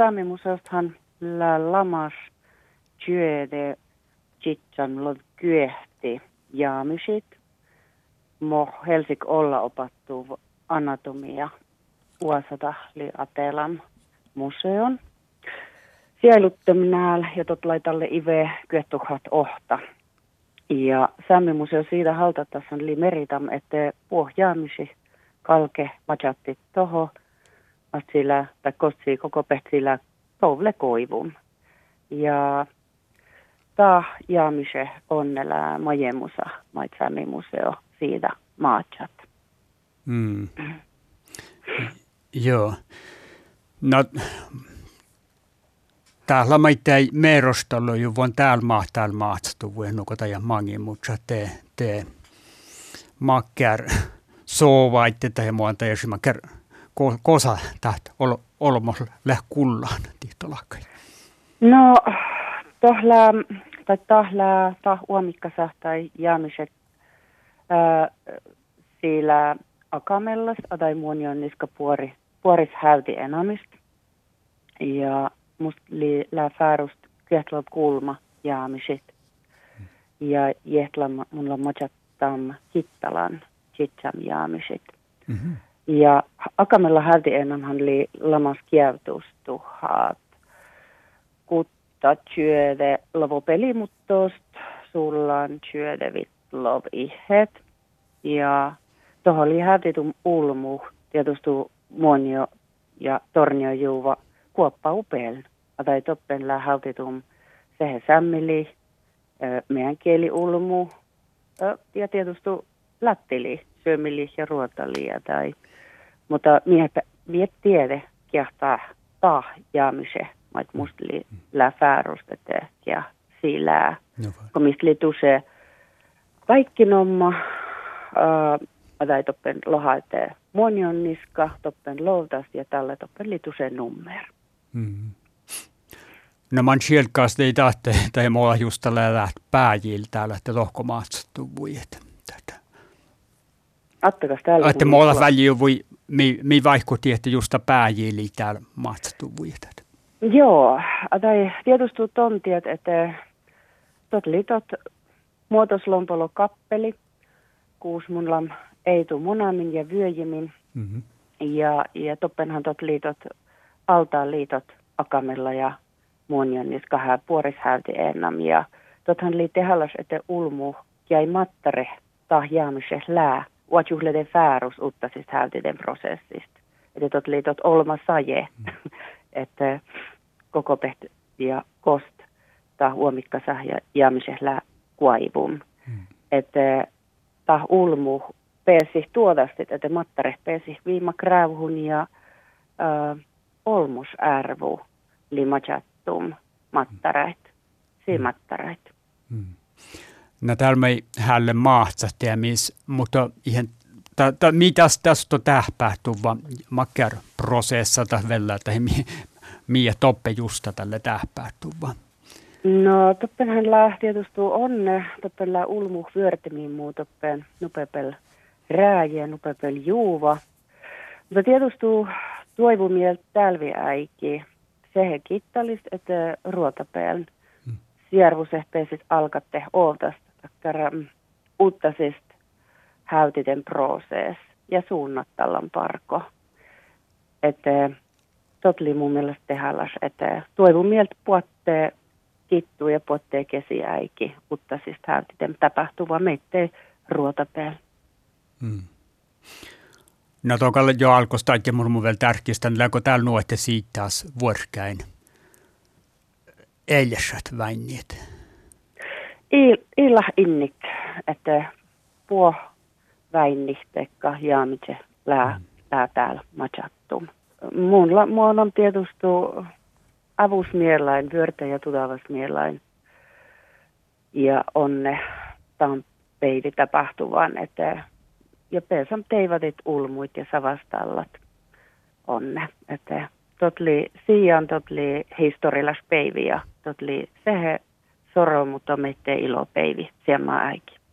Saamimuseostahan lamas työde jitsan lov kyehti jaamisit. Helsik olla opattu anatomia uasata li Atelam museon. Sieluttamnääl ja tot laitalle ive kyettuhat ohta. Ja Saamimuseo siitä haltatassan li meritam, että pohjaamisi kalke majatti toho, että sillä tai kotsi koko pehtsillä touvle koivun. Ja ta jaamise onnella majemusa mait Saamimuseo siitä maachat. Joo. No, täällä ei merostalo jo vuon täällä maatstu vuennukota ja mangi, mutta te makkär soovaitte tai muuta, jos makkär kosa täht olmos kullaan tihtolakkai. No, tahla uomikkasa tai jaamiset sillä akamellas tai muonion niska puoris häyti enamista. Ja musta lää färust kiehtlob kulma jaamiset. Ja jehtlam mulla majattam kittalan kitsam jaamiset. Mm-hmm. Ja akamella häyti enamhan li lamas kievtustuhat. Kutta työde lovo pelimuttost, sullan työde vitlov ihet. Ja tuohon oli hätitum ulmu, tietysti muonio ja tornio juuva kuoppa upeel. Tai toppenlää hätitum sehe sämmili, meidän kieli ulmu ja tietysti lattili, syömili ja ruotalia. Mutta miet tiede kiehtaa jaamise, mait musta lää färustet ja sillä, kun mistä li tuse kaikki nomma, tai toppen lohaite muonion niska, toppen loutas ja tälle toppen lituseen nummer. No man sielkaas ei tahte, tai mulla just tällä pääjillä täällä, että lohkomaatsettu vuijet. Attakas täällä. Että mulla väliä voi, mi vaikutti, että just pääjillä täällä maatsettu vuijet. Joo, tai tietysti tontiet, että tot litot muotoslompolo kappeli, kuus munlam ei tuu munamin ja vyöjimin. Mm-hmm. Ja toppenhan tot liitot, altaan liitot akamella ja muonion niska puorishäyti ennam. Ja tothan lii tehallas, että ulmu jäi mattare tahjaamiseh lää, uatjuhleden färus uttasista häytiden prosessista. Että tot liitot olma saje, että koko pehti ja kost tah uomikkasa ja jaamiseh lää kuaivum. Että tah ulmu pääsi tuodastit, että mattare pääsi viima krävhun ja olmusärvu limachattum mattarait, siimattarait. No täällä me ei hälle mahtsahtia, mutta ihan mitäs tästä on tähpähtuu vaan makkar prosessa tai vielä, tai miä toppe justa tälle tähpähtuu vaan? No toppenhan lää tietysti onne, toppen lää ulmu vyörtimiin muu toppen nupepel rääjä, nupepel juuva. Mutta tietysti toivumieltä tälviäiki, sehe kittalist, että ruotapel siervusehpeisit alkatte ootasta takkara uttasist häytiten prosees ja suunnattallan parko. Että totli mun mielestä tehallas, että toivumieltä puottee kittuu ja puottee kesiäiki uttasist häytiten tapahtuva meittei ruotapel. No tokalle jo alkoista, että mun vielä tärkeistä, niin läkö täällä nuotte siitä taas vuorkäin eilisät väinniet? Illa innik, että puo väinnistekka jaamitse lää täällä machattum. Mun on tietysti avusmielain, vyörtä ja tudavasmielain ja onne tämän peivi tapahtuvan, että ja pesam teivatit ulmuit ja savastallat onne. Että totli historiallas peivi ja totli sehe soro, mutta meitte ilo peivi siellä äiki.